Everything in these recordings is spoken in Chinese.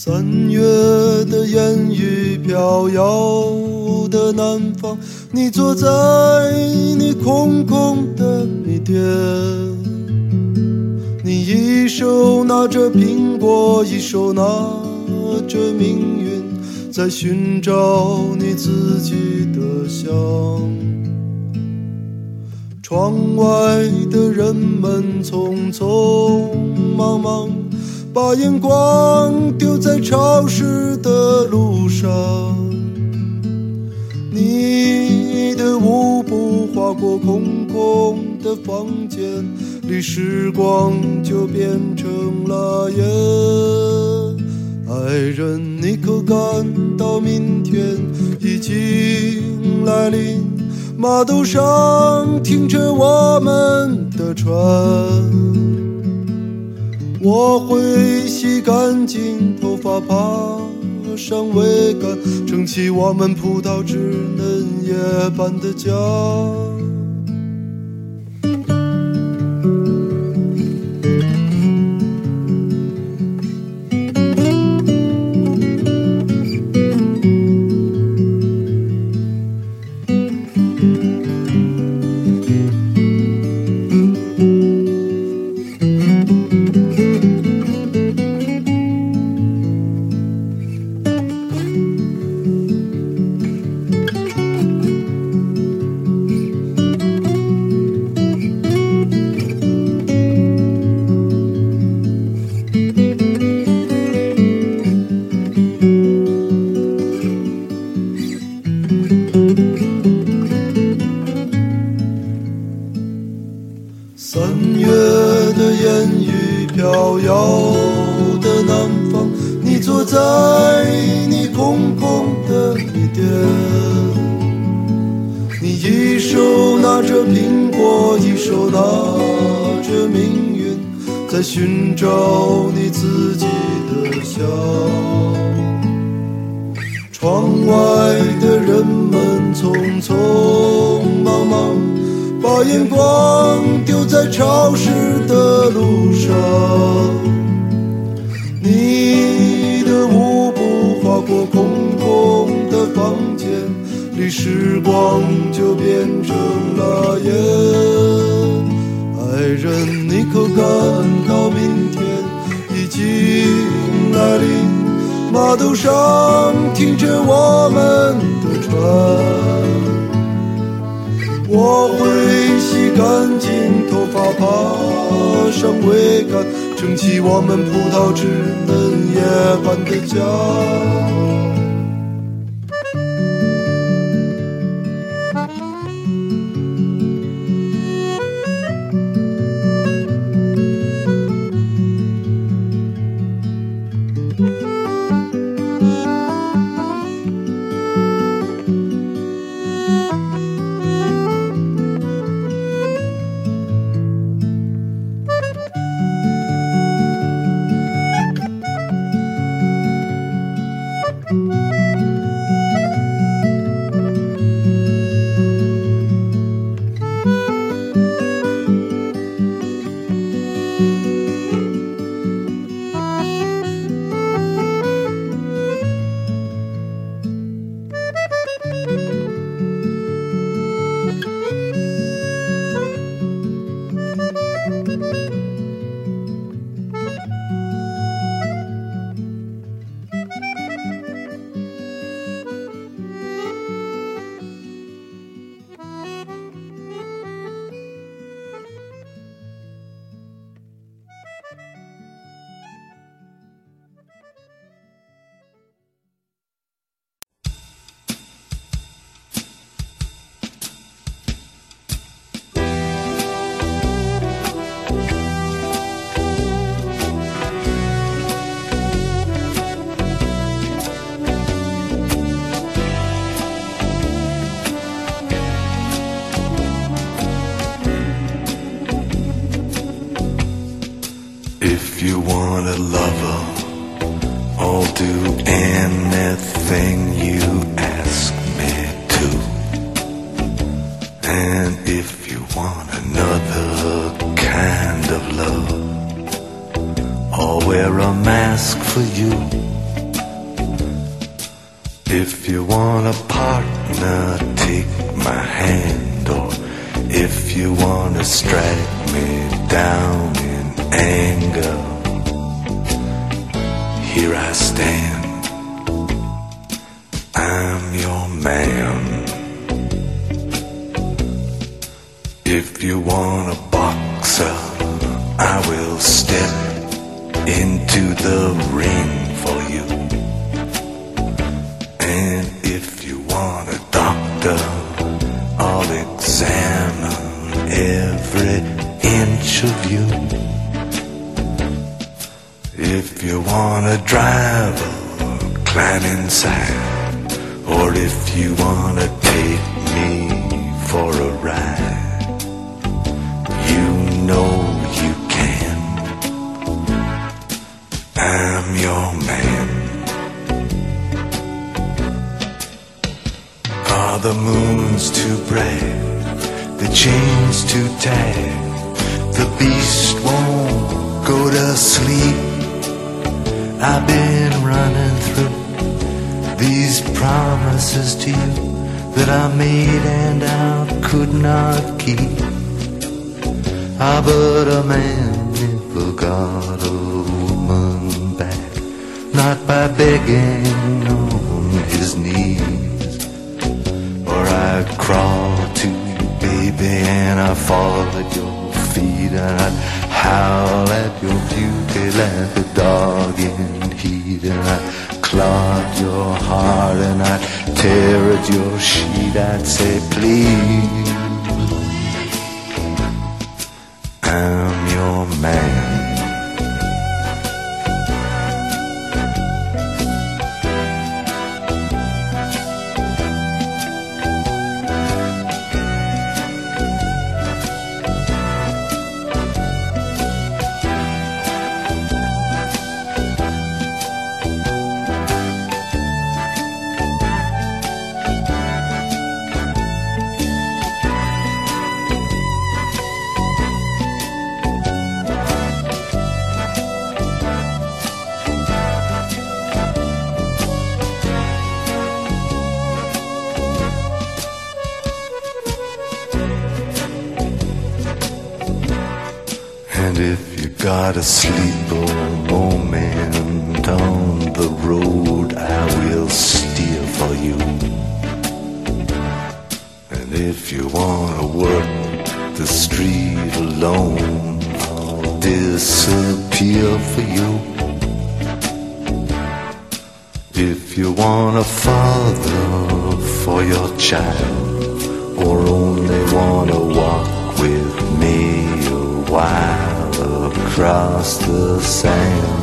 3月的烟雨飘摇的南方，你坐在你空空的米店，你一手拿着苹果，一手拿着命运，在寻找你自己的香。窗外的人们匆匆忙忙，把眼光丢在潮湿的路上，你的舞步划过空空的房间里，时光就变成了烟。爱人，你可感到明天已经来临？码头上停着我们的船，我会洗干净头发，爬上桅杆，撑起我们葡萄枝嫩叶般的家。3月的烟雨飘摇的南方，你坐在你空空的米店，你一手拿着苹果，一手拿着命运，在寻找你自己的香。窗外的人们匆匆忙忙，把眼光丢在潮湿的路上，你的舞步划过空空的房间里，时光就变成了烟。爱人，你可感到明天已经来临？码头上停着我们的船，我会洗干净头发，爬上桅杆，撑起我们葡萄枝嫩叶般的家。 If you want a lover, I'll do anything you ask me to. And if you want another kind of love, I'll wear a mask for you. If you want a partner, take my hand. Or if you want to strike me down in anger, here I stand, I'm your man. If you want a boxer, I will step into the ring for you. And if you want a doctor, I'll examine every inch of you. If you want a driver, climb inside. Or if you want to take me for a ride, you know you can. I'm your man. Are the moons too bright? The chains too tight? The beast won't go to sleep. I've been running through these promises to you that I made and I could not keep. Ah, but a man never got a woman back, not by begging on his knees. Or I'd crawl to you, baby, and I'd fall at your feet, and I'd howl at your beauty like a dog in heat, and I'd clog your heart, and I'd tear at your sheet. I'd say, please, I'm your man. And if you got a sleeper moment on the road, I will steer for you. And if you wanna work the street alone, I'll disappear for you. If you want a father for your child, or only wanna walk with me a while across the sand,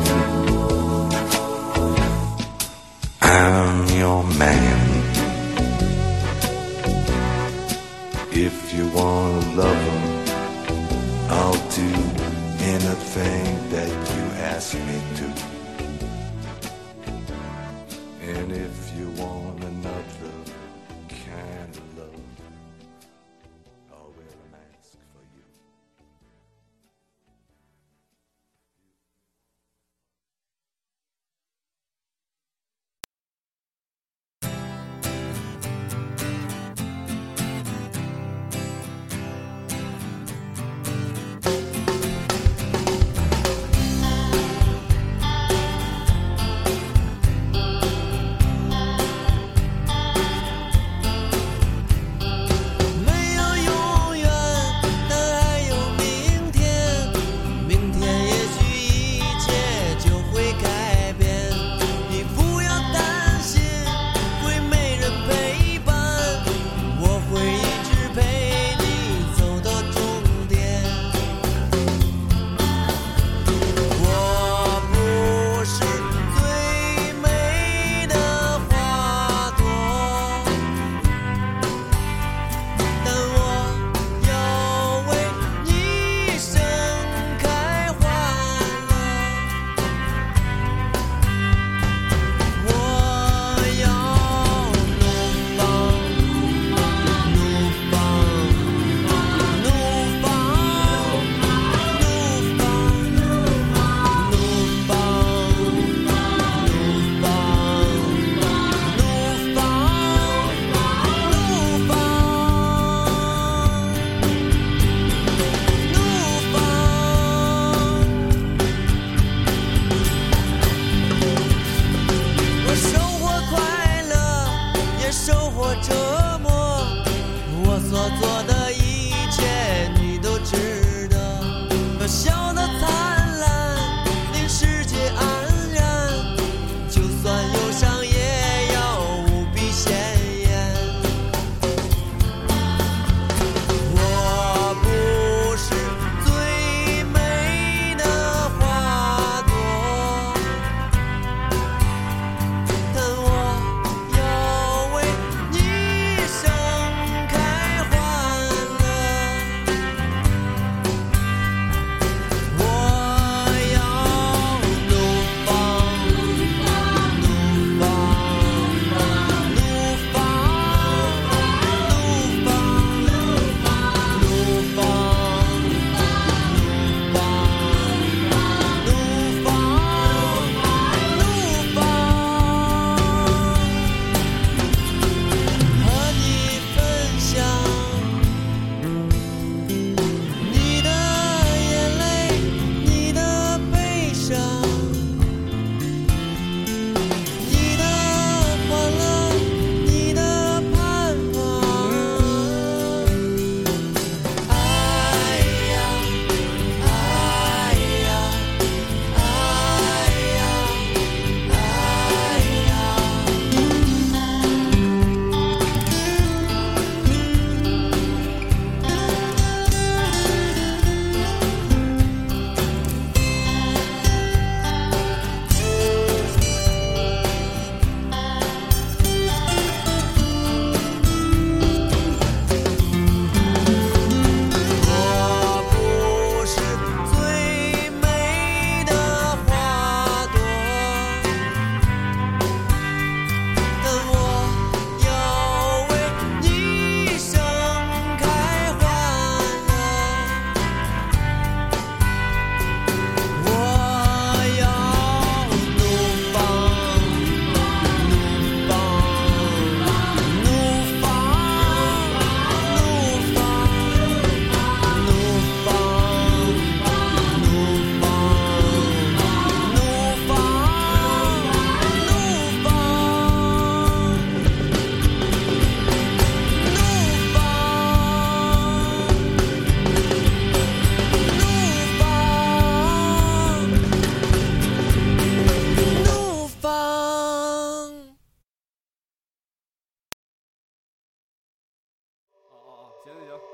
I'm your man. If you wanna love him, I'll do anything that you ask me to. And if you want another kind of love, I'll wear a mask for you.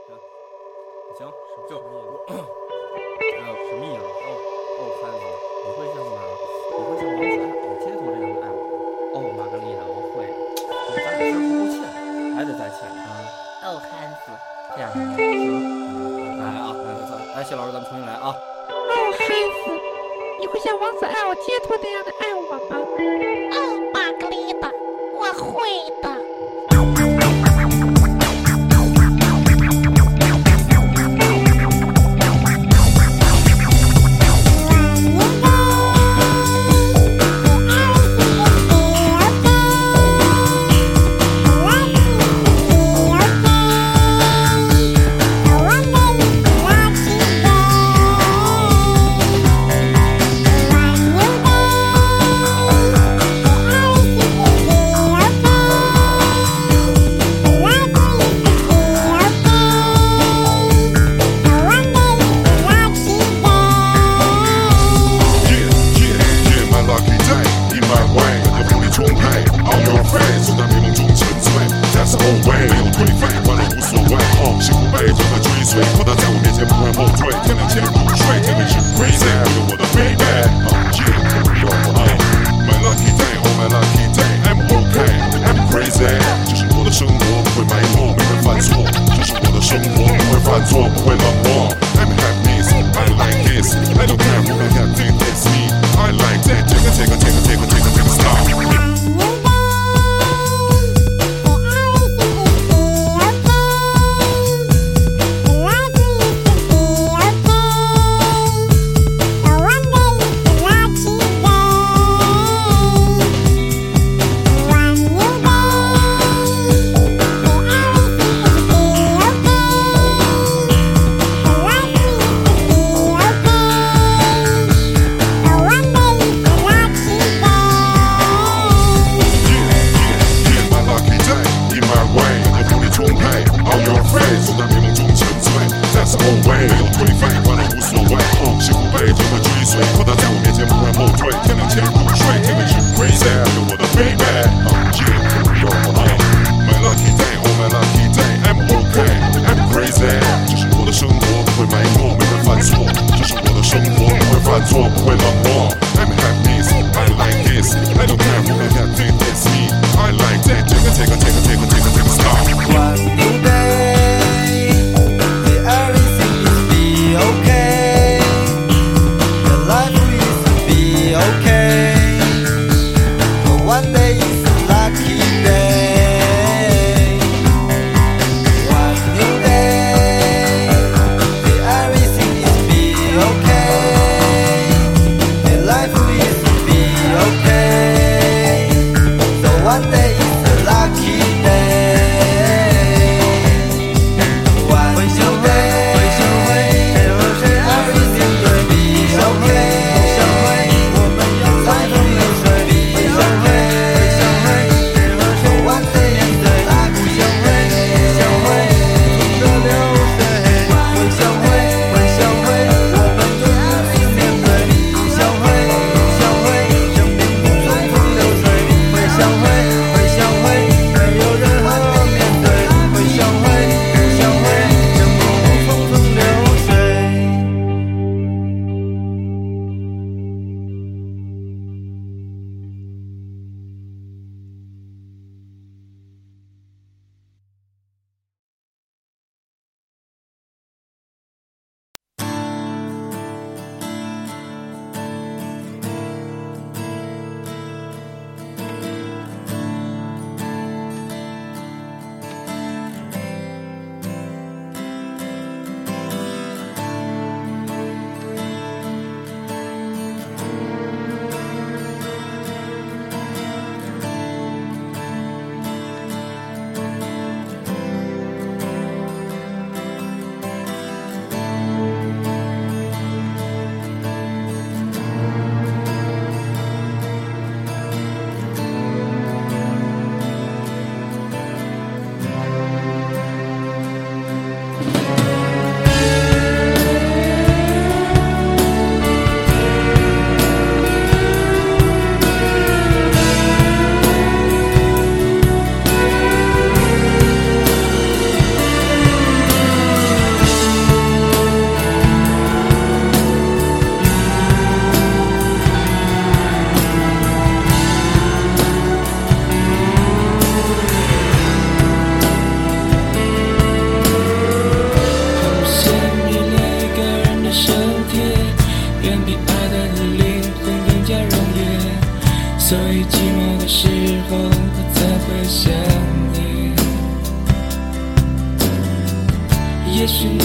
行，就什么意思？ 汉子， 你会像王子爱街头这样的爱我？玛格丽娜，我会。咱俩先不够欠，还得再欠啊。 汉子， 这样行，来啊，来，谢老师，咱们重新来啊。 汉子，你会像王子爱我街头那样的爱我吗？玛格丽娜，我会的。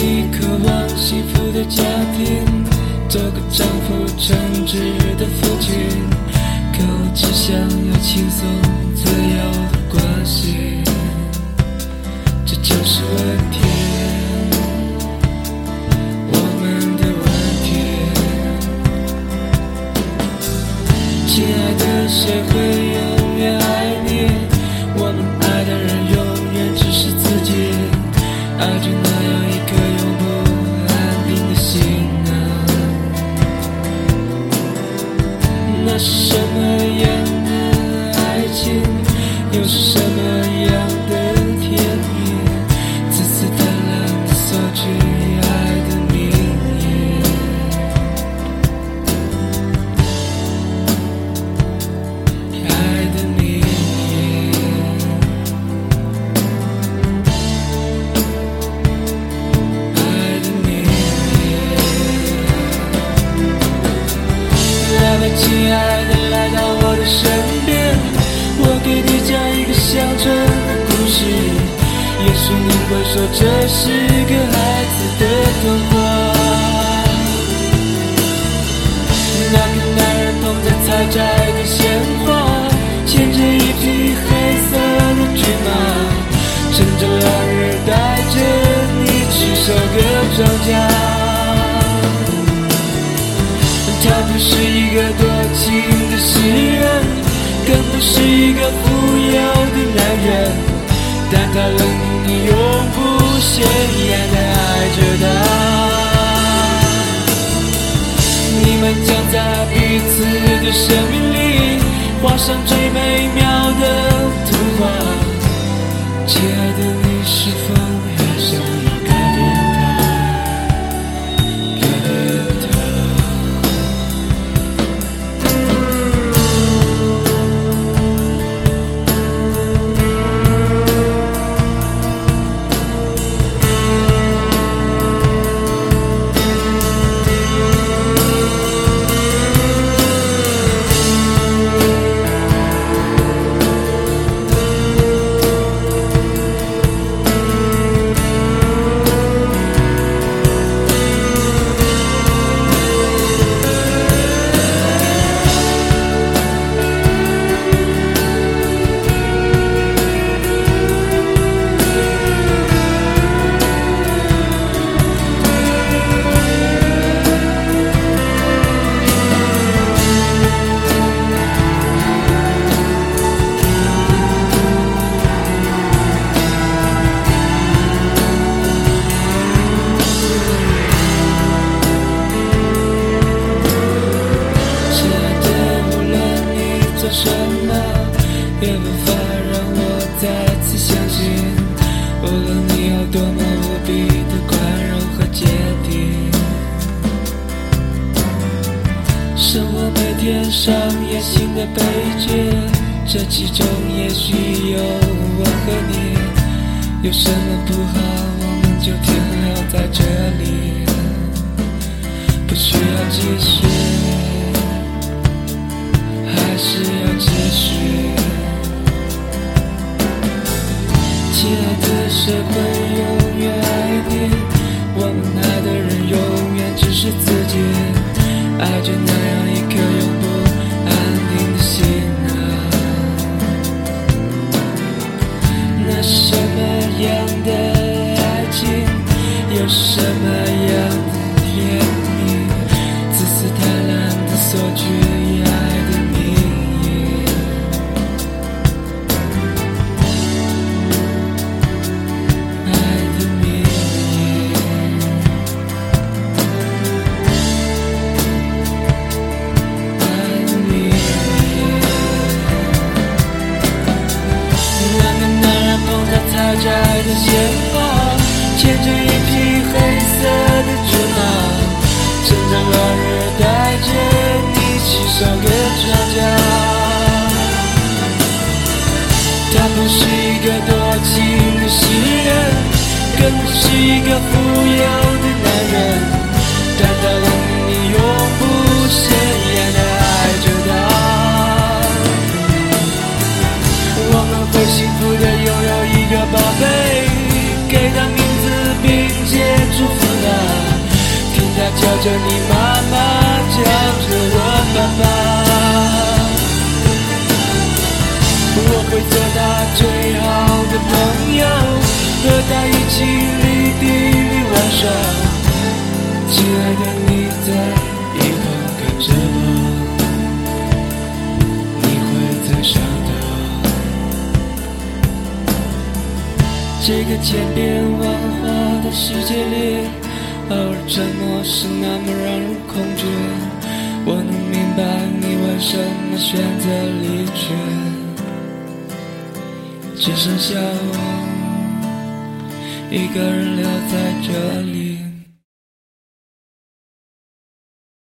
你渴望幸福的家庭，做个丈夫称职的父亲，可我只想要轻松自由的关系，这就是问题，我们的问题。亲爱的，谁会永远爱你？我们爱的人永远只是自己，爱着那样一颗永不安定的心啊。那是什么样的爱情，又是什么样的甜蜜，自私贪婪的索取爱的名义，爱的名义，爱的名义。来吧，亲爱的，来到我的身边，我给你讲一个乡村的故事，也许你会说这是个孩子的童话。那个男人捧着采摘的鲜花，牵着一匹黑色的骏马，趁着落日带着你去收割庄稼。他不是一个多情的诗人，更不是一个富有的男人，但他让你永不显眼地爱着他。你们将在彼此的生命里画上最美妙的图画。亲爱的，你是否也想要改变他？改变他。什么也无法让我再次相信，无论你有多么无比的宽容和坚定，生活每天上演新的悲剧，这其中也许有我和你，有什么不好我们就停留在这里，不需要继续，还是要继续。亲爱的，谁会永远爱你？我们爱的人永远只是自己，爱着那样一颗永不安定的心啊。那什么样的爱情，有什么样的甜蜜，自私贪婪的索取爱的名义，爱的名义，爱的名义。那个男人捧着采摘的鲜花，牵着一匹黑色的骏马，趁着落日带着你去收割庄稼。他不是一个多情的诗人，更不是一个富有的男人，但他让你永不显眼地爱着他。我们会幸福地拥有一个宝贝，给他名字并且祝福叫着你妈妈，叫着我爸爸。我会做他最好的朋友，和他一起绿地里玩耍。亲爱的，你在一旁看着我，你会再想他。这个千变万化的世界里，偶尔沉默是那么让人恐惧。我能明白你为什么选择离去，只剩下我一个人留在这里。